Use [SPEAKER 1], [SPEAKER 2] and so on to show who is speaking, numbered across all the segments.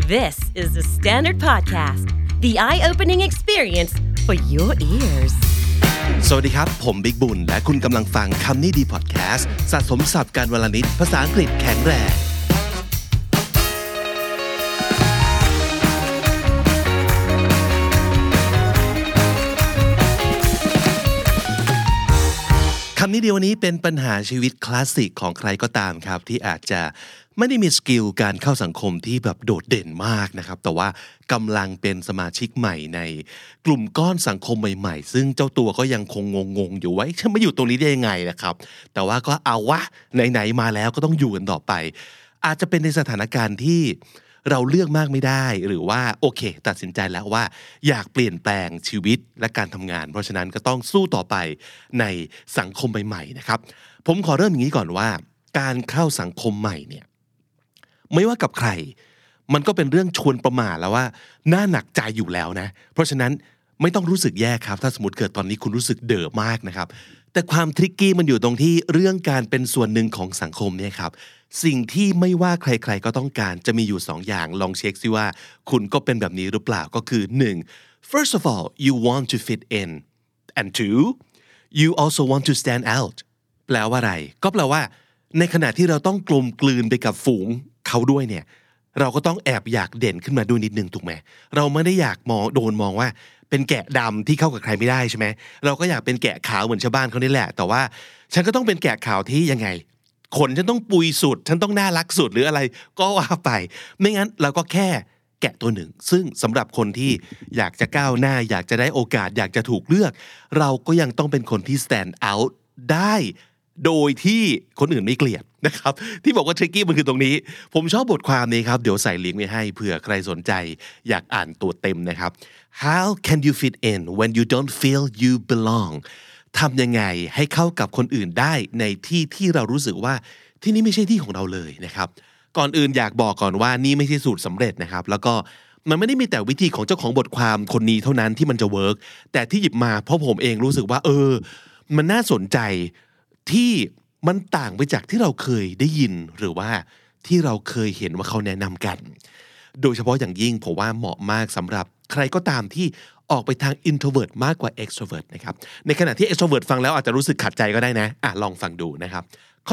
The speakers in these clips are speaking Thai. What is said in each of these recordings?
[SPEAKER 1] This is the Standard Podcast, the eye-opening experience for your ears.
[SPEAKER 2] สวัสดีครับผมบิ๊กบุญและคุณกำลังฟังคำนี้ดีพอดแคสต์สะสมศัพท์การวลนิดภาษาอังกฤษแข็งแรงคำนี้ดีวันนี้เป็นปัญหาชีวิตคลาสสิกของใครก็ตามครับที่อาจจะไม่ได้มีสกิลการเข้าสังคมที่แบบโดดเด่นมากนะครับแต่ว่ากำลังเป็นสมาชิกใหม่ในกลุ่มก้อนสังคมใหม่ๆซึ่งเจ้าตัวก็ยังคงงงๆอยู่ว่าฉันมาอยู่ตรงนี้ได้ยังไงนะครับแต่ว่าก็เอาวะไหนๆมาแล้วก็ต้องอยู่กันต่อไปอาจจะเป็นในสถานการณ์ที่เราเลือกมากไม่ได้หรือว่าโอเคตัดสินใจแล้วว่าอยากเปลี่ยนแปลงชีวิตและการทำงานเพราะฉะนั้นก็ต้องสู้ต่อไปในสังคมใหม่ๆนะครับผมขอเริ่มอย่างนี้ก่อนว่าการเข้าสังคมใหม่เนี่ยไม่ว่ากับใครมันก็เป็นเรื่องชวนประมาทแล้วว่าน่าหนักใจอยู่แล้วนะเพราะฉะนั้นไม่ต้องรู้สึกแย่ครับถ้าสมมติเกิดตอนนี้คุณรู้สึกเด๋อมากนะครับแต่ความทริกกี้มันอยู่ตรงที่เรื่องการเป็นส่วนหนึ่งของสังคมเนี่ยครับสิ่งที่ไม่ว่าใครๆก็ต้องการจะมีอยู่2 อย่างลองเช็คซิว่าคุณก็เป็นแบบนี้หรือเปล่าก็คือ 1. First of all you want to fit in and 2. you also want to stand out แปลว่าอะไรก็แปลว่าในขณะที่เราต้องกลมกลืนไปกับฝูงเขาด้วยเนี่ยเราก็ต้องแอบอยากเด่นขึ้นมาด้วยนิดนึงถูกไหมเราไม่ได้อยากโดนมองว่าเป็นแกะดำที่เข้ากับใครไม่ได้ใช่ไหมเราก็อยากเป็นแกะขาวเหมือนชาวบ้านเขานี่แหละแต่ว่าฉันก็ต้องเป็นแกะขาวที่ยังไงขนฉันต้องปุยสุดฉันต้องน่ารักสุดหรืออะไรก็ว่าไปไม่งั้นเราก็แค่แกะตัวหนึ่งซึ่งสำหรับคนที่อยากจะก้าวหน้าอยากจะได้โอกาสอยากจะถูกเลือกเราก็ยังต้องเป็นคนที่ stand out ได้โดยที่คนอื่นไม่เกลียดนะครับที่บอกว่า tricky มันคือตรงนี้ผมชอบบทความนี้ครับเดี๋ยวใส่ลิงก์ไว้ให้เผื่อใครสนใจอยากอ่านตัวเต็มนะครับ How can you fit in when you don't feel you belong ทำยังไงให้เข้ากับคนอื่นได้ในที่ที่เรารู้สึกว่าที่นี่ไม่ใช่ที่ของเราเลยนะครับก่อนอื่นอยากบอกก่อนว่านี่ไม่ใช่สูตรสำเร็จนะครับแล้วก็มันไม่ได้มีแต่วิธีของเจ้าของบทความคนนี้เท่านั้นที่มันจะเวิร์กแต่ที่หยิบมาเพราะผมเองรู้สึกว่ามันน่าสนใจที่มันต่างไปจากที่เราเคยได้ยินหรือว่าที่เราเคยเห็นว่าเขาแนะนำกันโดยเฉพาะอย่างยิ่งผมว่าเหมาะมากสำหรับใครก็ตามที่ออกไปทาง introvert มากกว่า extrovert นะครับในขณะที่ extrovert ฟังแล้วอาจจะรู้สึกขัดใจก็ได้นะลองฟังดูนะครับข้อ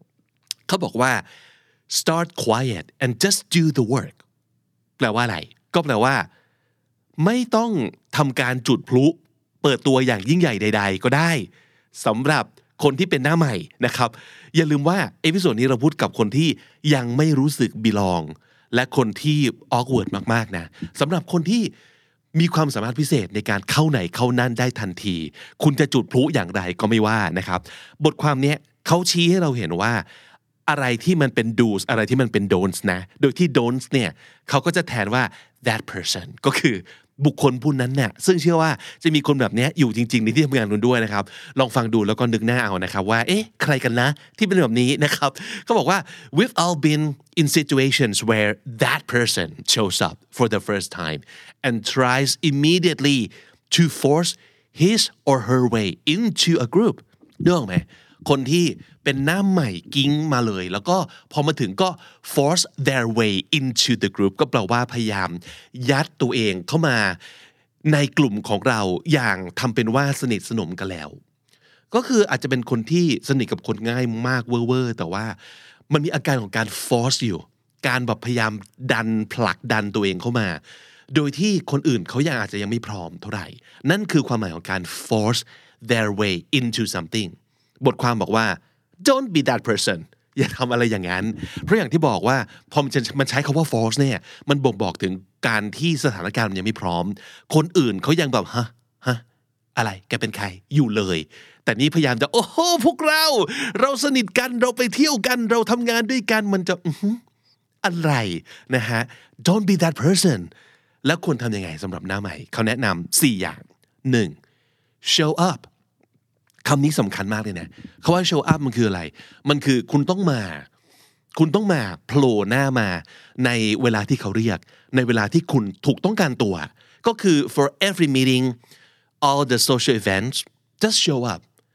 [SPEAKER 2] 1เขาบอกว่า start quiet and just do the work แปลว่าอะไรก็แปลว่าไม่ต้องทำการจุดพลุเปิดตัวอย่างยิ่งใหญ่ใดๆก็ได้สำหรับคนที่เป็นหน้าใหม่นะครับอย่าลืมว่าเอพิโซดนี้เราพูดกับคนที่ยังไม่รู้สึก belong และคนที่ awkward มากๆนะสำหรับคนที่มีความสามารถพิเศษในการเข้าไหนเข้านั่นได้ทันทีคุณจะจุดพลุอย่างไรก็ไม่ว่านะครับบทความนี้เขาชี้ให้เราเห็นว่าอะไรที่มันเป็น do's อะไรที่มันเป็น don'ts นะโดยที่ don'ts เนี่ยเขาก็จะแทนว่า that person ก็คือบุคคลผู้นั้นเนี่ยซึ่งเชื่อว่าจะมีคนแบบนี้อยู่จริงๆในที่ทำงานคุณด้วยนะครับลองฟังดูแล้วก็นึกหน้าเอานะครับว่าใครกันนะที่เป็นแบบนี้นะครับเขาบอกว่า we've all been in situations where that person shows up for the first time and tries immediately to force his or her way into a group นึกออกไหมคนที่เป็นหน้าใหม่กิ้งมาเลยแล้วก็พอมาถึงก็ force their way into the group ก็แปลว่าพยายามยัดตัวเองเข้ามาในกลุ่มของเราอย่างทำเป็นว่าสนิทสนมกันแล้วก็คืออาจจะเป็นคนที่สนิทกับคนง่ายมากเวอร์แต่ว่ามันมีอาการของการ force อยู่การแบบพยายามดันผลักดันตัวเองเข้ามาโดยที่คนอื่นเขายังอาจจะยังไม่พร้อมเท่าไหร่นั่นคือความหมายของการ force their way into somethingบทความบอกว่า don't be that person อย่าทำอะไรอย่างนั้นเพราะอย่างที่บอกว่าพอมันใช้คำว่า force เนี่ยมันบ่งบอกถึงการที่สถานการณ์มันยังไม่พร้อมคนอื่นเขายังแบบฮะอะไรแกเป็นใครอยู่เลยแต่นี่พยายามจะโอ้โหพวกเราสนิทกันเราไปเที่ยวกันเราทำงานด้วยกันมันจะอะไรนะฮะ don't be that person แล้วควรทำยังไงสำหรับหน้าใหม่เขาแนะนำ4 อย่าง 1. show upคำนี้สำคัญมากเลยนะเขาว่า show up มันคืออะไรมันคือคุณต้องมาโผล่หน้ามาในเวลาที่เขาเรียกในเวลาที่คุณถูกต้องการตัวก็คือ for every meeting all the social events just show up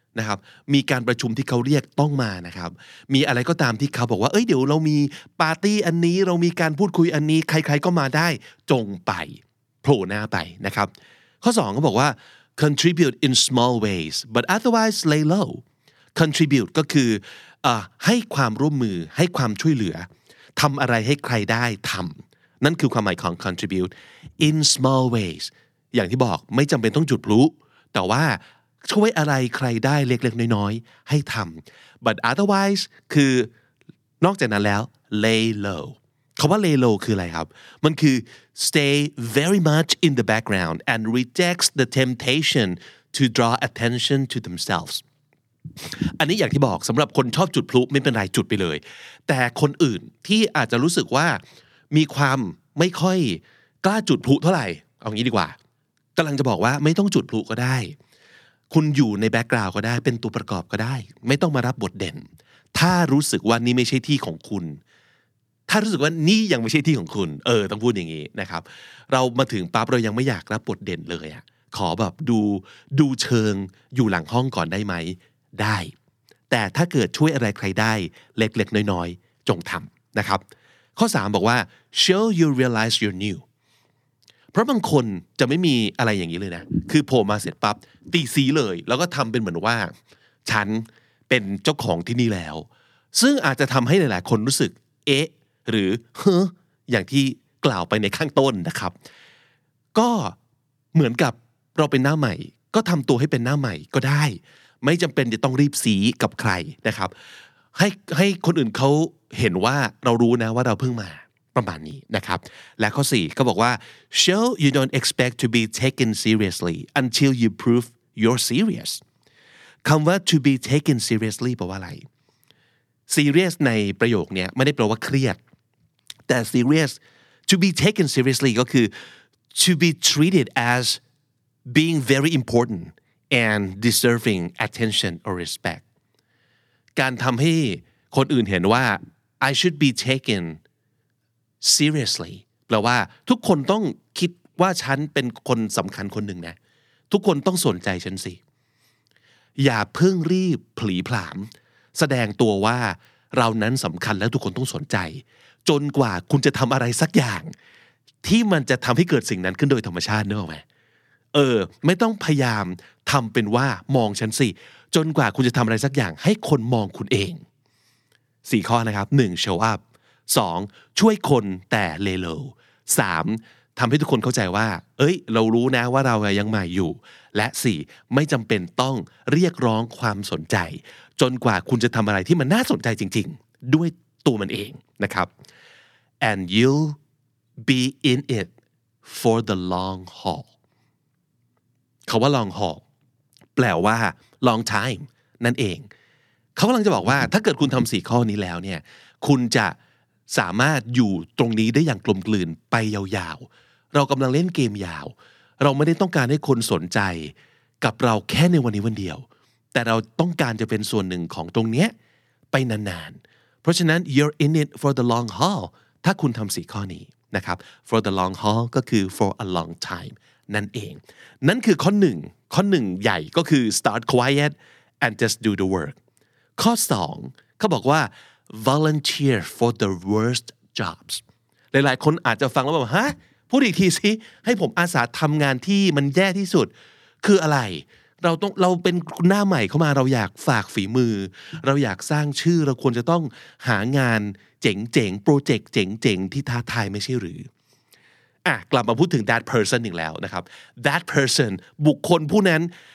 [SPEAKER 2] นะครับมีการประชุมที่เขาเรียกต้องมานะครับมีอะไรก็ตามที่เขาบอกว่าเดี๋ยวเรามีปาร์ตี้อันนี้เรามีการพูดคุยอันนี้ใครๆก็มาได้จงไปโผล่หน้าไปนะครับข้อ2เขาบอกว่า contribute in small ways but otherwise lay low contribute ก็คือให้ความร่วมมือให้ความช่วยเหลือทำอะไรให้ใครได้ทำนั่นคือความหมายของ contribute in small ways อย่างที่บอกไม่จำเป็นต้องจุดพลุแต่ว่าช่วยอะไรใครได้เล็กๆน้อยๆให้ทำ but otherwise คือนอกจากนั้นแล้ว lay low คำว่า lay low คืออะไรครับมันคือ stay very much in the background and rejects the temptation to draw attention to themselves อันนี้อย่างที่บอกสำหรับคนชอบจุดพลุไม่เป็นไรจุดไปเลยแต่คนอื่นที่อาจจะรู้สึกว่ามีความไม่ค่อยกล้าจุดพลุเท่าไหร่เอางี้ดีกว่ากำลังจะบอกว่าไม่ต้องจุดพลุก็ได้คุณอยู่ในแบ็คกราวด์ก็ได้เป็นตัวประกอบก็ได้ไม่ต้องมารับบทเด่นถ้ารู้สึกว่านี่ไม่ใช่ที่ของคุณถ้ารู้สึกว่านี่ยังไม่ใช่ที่ของคุณต้องพูดอย่างนี้นะครับเรามาถึงปั๊บเรายังไม่อยากรับบทเด่นเลยอ่ะขอแบบดูเชิงอยู่หลังห้องก่อนได้ไหมได้แต่ถ้าเกิดช่วยอะไรใครได้เล็กๆน้อยๆจงทำนะครับข้อ3บอกว่า show you realize you're new เพราะบางคนจะไม่มีอะไรอย่างนี้เลยนะคือโผล่มาเสร็จปั๊บตีซีเลยแล้วก็ทำเป็นเหมือนว่าฉันเป็นเจ้าของที่นี่แล้วซึ่งอาจจะทำให้หลายๆคนรู้สึกหรืออย่างที่กล่าวไปในข้างต้นนะครับก็เหมือนกับเราเป็นหน้าใหม่ก็ทำตัวให้เป็นหน้าใหม่ก็ได้ไม่จำเป็นจะต้องรีบสีกับใครนะครับให้คนอื่นเขาเห็นว่าเรารู้นะว่าเราเพิ่งมาประมาณนี้นะครับและข้อ4ก็บอกว่า show you don't expect to be taken seriously until you prove you're serious คำว่า to be taken seriously แปลว่าอะไร serious ในประโยคนี้ไม่ได้แปลว่าเครียดแต่ serious to be taken seriously ก็คือ to be treated as being very important and deserving attention or respect การทำให้คนอื่นเห็นว่า I should be taken seriously แปลว่าทุกคนต้องคิดว่าฉันเป็นคนสำคัญคนหนึ่งนะทุกคนต้องสนใจฉันสิอย่าเพิ่งรีบผลีผลามแสดงตัวว่าเรานั้นสำคัญแล้วทุกคนต้องสนใจจนกว่าคุณจะทำอะไรสักอย่างที่มันจะทำให้เกิดสิ่งนั้นขึ้นโดยธรรมชาตินึกออกไหมไม่ต้องพยายามทำเป็นว่ามองฉันสิจนกว่าคุณจะทำอะไรสักอย่างให้คนมองคุณเอง4ข้อนะครับ1 show up 2ช่วยคนแต่ lay low 3ทำให้ทุกคนเข้าใจว่าเรารู้นะว่าเรายังใหม่อยู่และ4ไม่จำเป็นต้องเรียกร้องความสนใจจนกว่าคุณจะทำอะไรที่มันน่าสนใจจริงๆด้วยตัวมันเองนะครับ and you'll be in it for the long haul คำว่า long haul แปลว่า long time นั่นเองเขากำลังจะบอกว่าถ้าเกิดคุณทำ4ข้อนี้แล้วเนี่ยคุณจะสามารถอยู่ตรงนี้ได้อย่างกลมกลืนไปยาวๆเรากำลังเล่นเกมยาวเราไม่ได้ต้องการให้คนสนใจกับเราแค่ในวันนี้วันเดียวแต่เราต้องการจะเป็นส่วนหนึ่งของตรงเนี้ยไปนานๆเพราะฉะนั้น you're in it for the long haul ถ้าคุณทำ4ข้อนี้นะครับ for the long haul ก็คือ for a long time นั่นเองนั่นคือข้อ1ใหญ่ก็คือ start quiet and just do the work ข้อ2เขาบอกว่า volunteer for the worst jobs หลายๆคนอาจจะฟังแล้วแบบฮะพูดอีกทีสิให้ผมอาสาทำงานที่มันแย่ที่สุดคืออะไรเราเป็นหน้าใหม่เข้ามาเราอยากฝากฝีมือเราอยากสร้างชื่อเราควรจะต้องหางานเจ๋งๆโปรเจกต์เจ๋งๆที่ท้าทายไม่ใช่หรือกลับมาพูดถึง that person อีกแล้วนะครับ that person บุคคลผู้นั้น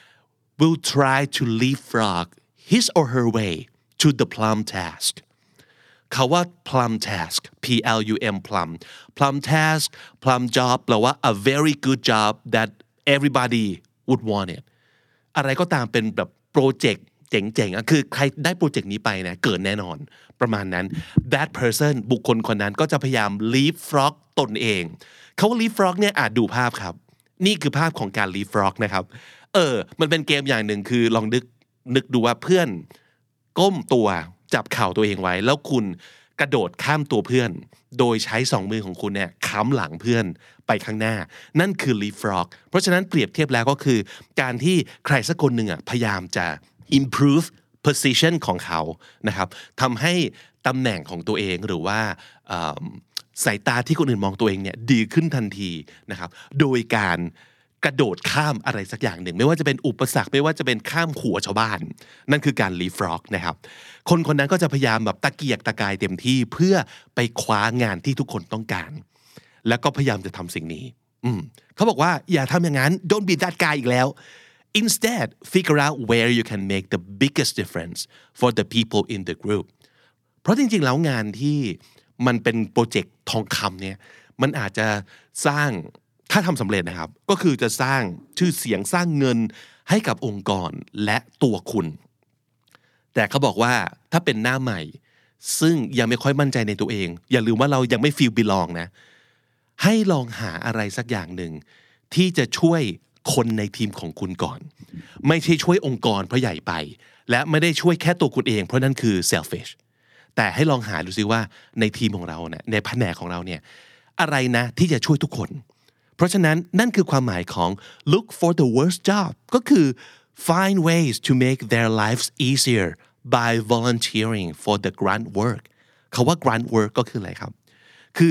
[SPEAKER 2] will try to leapfrog his or her way to the plum task เขาว่า plum task plum plum task plum job แปลว่า a very good job that everybody would want it อะไรก็ตามเป็นแบบโปรเจกต์เจ๋งๆคือใครได้โปรเจกต์นี้ไปนะเกิดแน่นอนประมาณนั้น that person บุคคลคนนั้นก็จะพยายาม leapfrog ตนเองเขาว่า leapfrog เนี่ยดูภาพครับนี่คือภาพของการ leapfrog นะครับมันเป็นเกมอย่างหนึ่งคือลองนึกดูว่าเพื่อนก้มตัวจับเข่าตัวเองไว้แล้วคุณกระโดดข้ามตัวเพื่อนโดยใช้2มือของคุณเนี่ยค้ำหลังเพื่อนไปข้างหน้านั่นคือ leapfrog เพราะฉะนั้นเปรียบเทียบแล้วก็คือการที่ใครสักคนหนึ่งพยายามจะ improve position ของเขานะครับทำให้ตำแหน่งของตัวเองหรือว่าสายตาที่คนอื่นมองตัวเองเนี่ยดีขึ้นทันทีนะครับโดยการกระโดดข้ามอะไรสักอย่างหนึ่งไม่ว่าจะเป็นอุปสรรคไม่ว่าจะเป็นข้ามขัวชาวบ้านนั่นคือการ leapfrog นะครับคนคนนั้นก็จะพยายามแบบตะเกียกตะกายเต็มที่เพื่อไปคว้างานที่ทุกคนต้องการแล้วก็พยายามจะทำสิ่งนี้เขาบอกว่าอย่าทำอย่างนั้น don't be that guy อีกแล้ว instead figure out where you can make the biggest difference for the people in the group เพราะจริงๆแล้วงานที่มันเป็นโปรเจกต์ทองคำเนี่ยมันอาจจะสร้างถ้าทำสำเร็จนะครับก็คือจะสร้างชื่อเสียงสร้างเงินให้กับองค์กรและตัวคุณแต่เขาบอกว่าถ้าเป็นหน้าใหม่ซึ่งยังไม่ค่อยมั่นใจในตัวเองอย่าลืมว่าเรายังไม่ feel belong นะให้ลองหาอะไรสักอย่างหนึ่งที่จะช่วยคนในทีมของคุณก่อนไม่ใช่ช่วยองค์กรเพราะใหญ่ไปและไม่ได้ช่วยแค่ตัวคุณเองเพราะนั่นคือ selfish แต่ให้ลองหาดูซิว่าในทีมของเราเนี่ยในแผนกของเราเนี่ยอะไรนะที่จะช่วยทุกคนเพราะฉะนั้นนั่นคือความหมายของ look for the worst job ก็คือ find ways to make their lives easier by volunteering for the grunt work คำว่า grunt work ก็คืออะไรครับคือ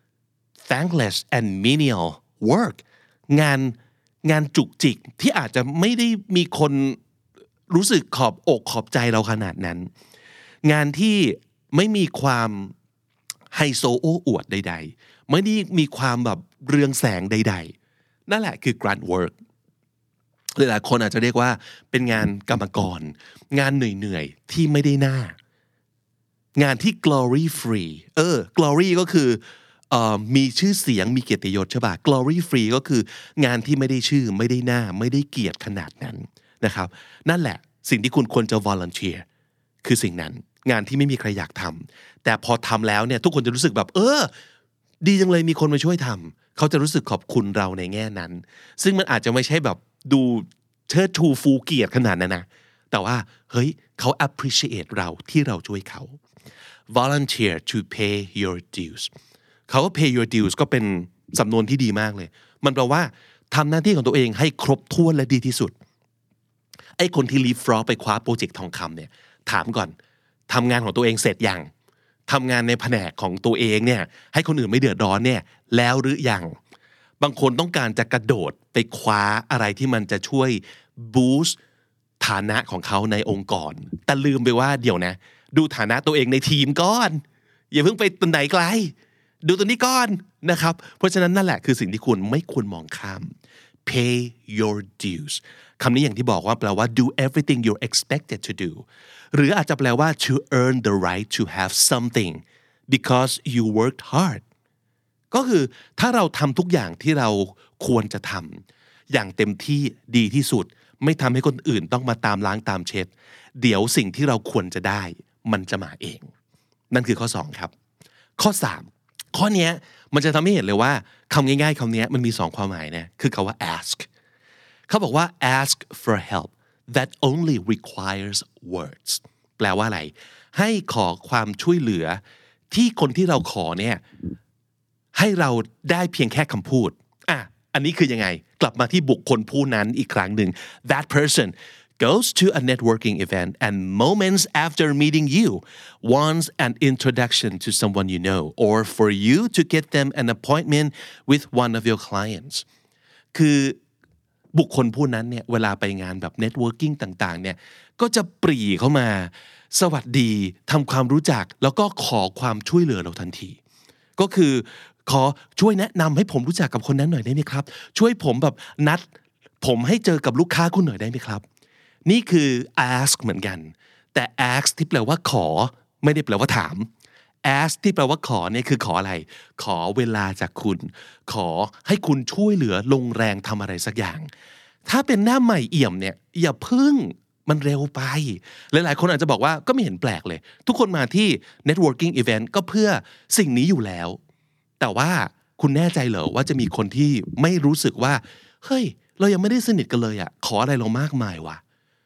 [SPEAKER 2] thankless and menial work งานจุกจิกที่อาจจะไม่ได้มีคนรู้สึกขอบอกขอบใจเราขนาดนั้นงานที่ไม่มีความไฮโซโอ้อวดใดๆไม่ได้มีความแบบเรืองแสงใดๆนั่นแหละคือ grunt work หลายๆคนอาจจะเรียกว่าเป็นงานกรรมกรงานเหนื่อยๆที่ไม่ได้หน้างานที่ glory free glory ก็คือมีชื่อเสียงมีเกียรติยศใช่ป่ะ glory free ก็คืองานที่ไม่ได้ชื่อไม่ได้หน้าไม่ได้เกียรติขนาดนั้นนะครับนั่นแหละสิ่งที่คุณควรจะ volunteer คือสิ่งนั้นงานที่ไม่มีใครอยากทำแต่พอทำแล้วเนี่ยทุกคนจะรู้สึกแบบดีจังเลยมีคนมาช่วยทำเขาจะรู้สึกขอบคุณเราในแง่นั้นซึ่งมันอาจจะไม่ใช่แบบดูเชิดชูฟูเกียรติขนาดนั้นนะแต่ว่าเฮ้ยเขา appreciate เราที่เราช่วยเขา volunteer to pay your dues เขาว่า pay your dues ก็เป็นสำนวนที่ดีมากเลยมันแปลว่าทำหน้าที่ของตัวเองให้ครบถ้วนและดีที่สุดไอ้คนที่ leapfrog ไปคว้าโปรเจกต์ทองคำเนี่ยถามก่อนทำงานของตัวเองเสร็จยังทำงานในแผนกของตัวเองเนี่ยให้คนอื่นไม่เดือดร้อนเนี่ยแล้วหรือยังบางคนต้องการจะกระโดดไปคว้าอะไรที่มันจะช่วย boost ฐานะของเขาในองค์กรแต่ลืมไปว่าเดี๋ยวนะดูฐานะตัวเองในทีมก่อนอย่าเพิ่งไปตรงไหนไกลดูตัวนี้ก่อนนะครับเพราะฉะนั้นนั่นแหละคือสิ่งที่คุณไม่ควรมองข้าม pay your dues คำนี้อย่างที่บอกว่าแปลว่า do everything you're expected to do หรืออาจจะแปลว่า to earn the right to have something because you worked hard ก็คือถ้าเราทำทุกอย่างที่เราควรจะทำอย่างเต็มที่ดีที่สุดไม่ทำให้คนอื่นต้องมาตามล้างตามเช็ดเดี๋ยวสิ่งที่เราควรจะได้มันจะมาเองนั่นคือข้อ2ครับข้อ3ข้อนี้มันจะทำให้เห็นเลยว่าคำง่ายๆคำนี้มันมี2ความหมายนะคือคำว่า ask เขาบอกว่า ask for help that only requires words แปลว่าอะไรให้ขอความช่วยเหลือที่คนที่เราขอเนี่ยให้เราได้เพียงแค่คำพูดอันนี้คือยังไงกลับมาที่บุคคลผู้นั้นอีกครั้งหนึ่ง that person goes to a networking event and moments after meeting you wants an introduction to someone you know or for you to get them an appointment with one of your clients คือบุคคลผู้นั้นเนี่ยเวลาไปงานแบบ networking ต่างๆเนี่ยก็จะปรีเข้ามาสวัสดีทำความรู้จักแล้วก็ขอความช่วยเหลือเราทันทีก็คือขอช่วยแนะนำให้ผมรู้จักกับคนนั้นหน่อยได้ไหมครับช่วยผมแบบนัดผมให้เจอกับลูกค้าคุณหน่อยได้ไหมครับนี่คือ ask เหมือนกันแต่ ask ที่แปลว่าขอไม่ได้แปลว่าถาม ask ที่แปลว่าขอเนี่ยคือขออะไรขอเวลาจากคุณขอให้คุณช่วยเหลือลงแรงทำอะไรสักอย่างถ้าเป็นหน้าใหม่เอี่ยมเนี่ยอย่าพึ่งมันเร็วไปหลายๆคนอาจจะบอกว่าก็ไม่เห็นแปลกเลยทุกคนมาที่ networking event ก็เพื่อสิ่งนี้อยู่แล้วแต่ว่าคุณแน่ใจเหรอว่าจะมีคนที่ไม่รู้สึกว่าเฮ้ยเรายังไม่ได้สนิทกันเลยขออะไรเรามากมายวะ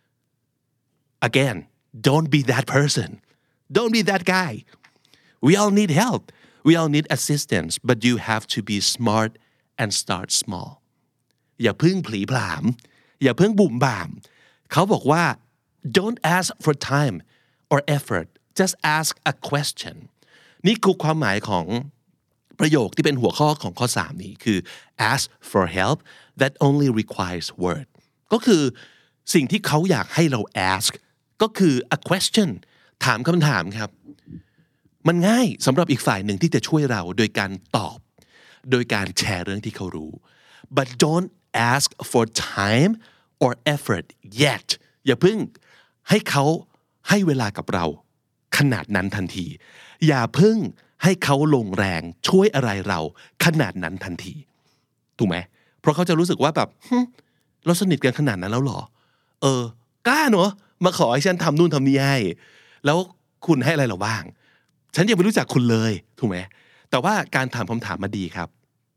[SPEAKER 2] Again don't be that person don't be that guy we all need help we all need assistance but you have to be smart and start small อย่าพึ่งผลีผลามอย่าพึ่งบุ่มบ่ามเขาบอกว่า don't ask for time or effort just ask a question นี่คือความหมายของประโยคที่เป็นหัวข้อของข้อ3นี้คือ ask for help that only requires word ก็คือสิ่งที่เขาอยากให้เรา ask ก็คือ a question ถามคำถามครับมันง่ายสำหรับอีกฝ่ายหนึ่งที่จะช่วยเราโดยการตอบโดยการแชร์เรื่องที่เขารู้ but don't ask for time or effort yet อย่าเพิ่งให้เขาให้เวลากับเราขนาดนั้นทันทีอย่าเพิ่งให้เขาลงแรงช่วยอะไรเราขนาดนั้นทันทีถูกไหมเพราะเขาจะรู้สึกว่าแบบเราสนิทกันขนาดนั้นแล้วหรอกล้าเนอะมาขอให้ฉันทำนู่นทำนี่ให้แล้วคุณให้อะไรเราบ้างฉันยังไม่รู้จักคุณเลยถูกไหมแต่ว่าการถามคำถามมาดีครับ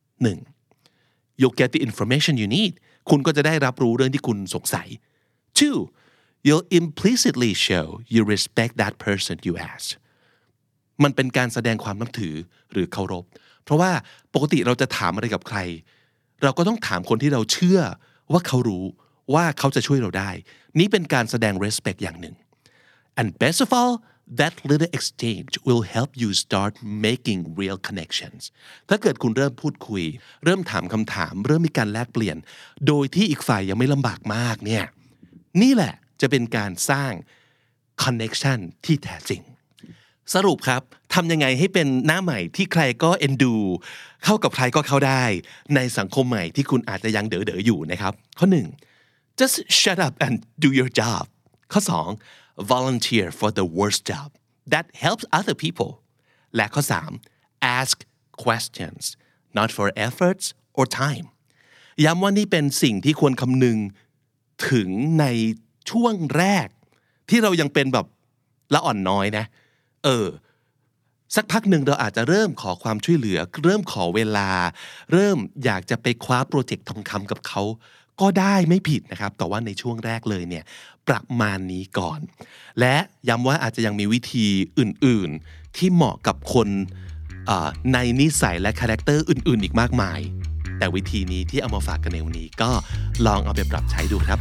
[SPEAKER 2] 1. You'll get the information you need คุณก็จะได้รับรู้เรื่องที่คุณสงสัย 2. You'll implicitly show you respect that person you asked มันเป็นการแสดงความนับถือหรือเคารพเพราะว่าปกติเราจะถามอะไรกับใครเราก็ต้องถามคนที่เราเชื่อว่าเขารู้ว่าเขาจะช่วยเราได้นี่เป็นการแสดง respect อย่างหนึ่ง and best of all that little exchange will help you start making real connections ถ้าเกิดคุณเริ่มพูดคุยเริ่มถามคำถามเริ่มมีการแลกเปลี่ยนโดยที่อีกฝ่ายยังไม่ลำบากมากเนี่ยนี่แหละจะเป็นการสร้าง connection ที่แท้จริงสรุปครับทำยังไงให้เป็นหน้าใหม่ที่ใครก็เอ็นดูเข้ากับใครก็เข้าได้ในสังคมใหม่ที่คุณอาจจะยังเด๋อๆอยู่นะครับข้อ 1 just shut up and do your job ข้อ 2 volunteer for the worst job that helps other people และข้อ 3 ask questions not for efforts or time ย้ำว่านี่เป็นสิ่งที่ควรคำนึงถึงในช่วงแรกที่เรายังเป็นแบบละอ่อนน้อยนะสักพักหนึ่งเราอาจจะเริ่มขอความช่วยเหลือเริ่มขอเวลาเริ่มอยากจะไปคว้าโปรเจกต์ทองคำกับเขาก็ได้ไม่ผิดนะครับแต่ว่าในช่วงแรกเลยเนี่ยประมาณนี้ก่อนและย้ำว่าอาจจะยังมีวิธีอื่นๆที่เหมาะกับคนในนิสัยและคาแรคเตอร์อื่นๆอีกมากมายแต่วิธีนี้ที่เอามาฝากกันในวันนี้ก็ลองเอาไปปรับใช้ดูครับ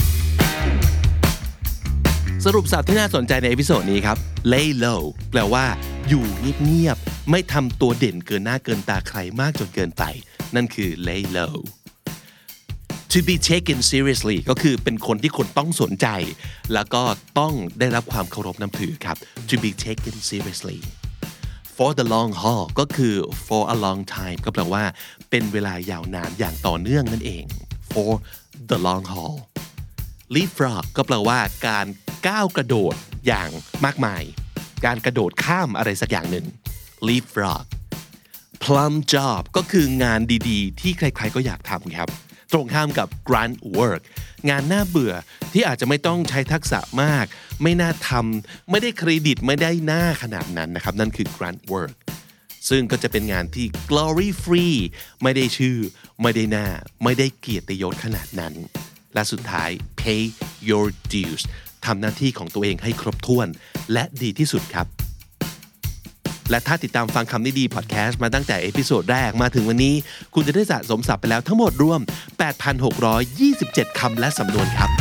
[SPEAKER 2] สรุปศัพท์ที่น่าสนใจในเอพิโซดนี้ครับ lay low แปลว่าอยู่เงียบๆไม่ทำตัวเด่นเกินหน้าเกินตาใครมากจนเกินไปนั่นคือ lay low to be taken seriously ก็คือเป็นคนที่คนต้องสนใจแล้วก็ต้องได้รับความเคารพนับถือครับ to be taken seriously for the long haul ก็คือ for a long time ก็แปลว่าเป็นเวลายาวนานอย่างต่อเนื่องนั่นเอง for the long haul leapfrog ก็แปลว่าการก้าวกระโดดอย่างมากมายการกระโดดข้ามอะไรสักอย่างหนึ่ง leapfrog plum job ก็คืองานดีๆที่ใครๆก็อยากทำครับตรงข้ามกับ grunt work งานน่าเบื่อที่อาจจะไม่ต้องใช้ทักษะมากไม่น่าทำไม่ได้เครดิตไม่ได้หน้าขนาดนั้นนะครับนั่นคือ grunt work ซึ่งก็จะเป็นงานที่ glory free ไม่ได้ชื่อไม่ได้หน้าไม่ได้เกียรติยศขนาดนั้นและสุดท้าย pay your dues ทำหน้าที่ของตัวเองให้ครบถ้วนและดีที่สุดครับและถ้าติดตามฟังคำนี้ดีพอดแคสต์มาตั้งแต่เอพิโซดแรกมาถึงวันนี้คุณจะได้สะสมศัพท์ไปแล้วทั้งหมดรวม 8,627 คำและสำนวนครับ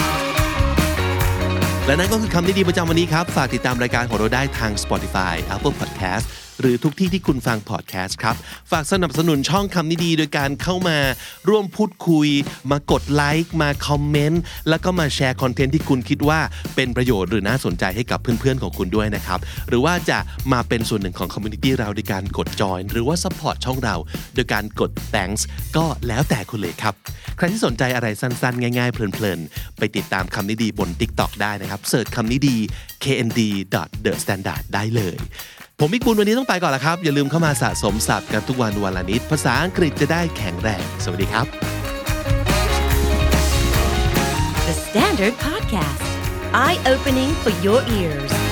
[SPEAKER 2] และนั่นก็คือคำนี้ดีประจำวันนี้ครับฝากติดตามรายการของเราได้ทาง Spotify Apple Podcast หรือทุกที่ที่คุณฟังพอดแคสต์ครับฝากสนับสนุนช่องคำนี้ดีโดยการเข้ามาร่วมพูดคุยมากดไลค์มาคอมเมนต์แล้วก็มาแชร์คอนเทนต์ที่คุณคิดว่าเป็นประโยชน์หรือน่าสนใจให้กับเพื่อนๆของคุณด้วยนะครับหรือว่าจะมาเป็นส่วนหนึ่งของคอมมูนิตี้เราโดยการกดจอยหรือว่าซัพพอร์ตช่องเราโดยการกด thanks ก็แล้วแต่คุณเลยครับใครที่สนใจอะไรสั้นๆง่ายๆเพลินๆไปติดตามคำนี้ดีบน TikTok ได้นะครับเสิร์ชคำนี้ดี knd.thestandard ได้เลยผมมิกบุญวันนี้ต้องไปก่อนแล้วครับอย่าลืมเข้ามาสะสมศัพท์กันทุกวันวันละนิดภาษาอังกฤษจะได้แข็งแรงสวัสดีครับ
[SPEAKER 1] The Standard Podcast Eye Opening for Your Ears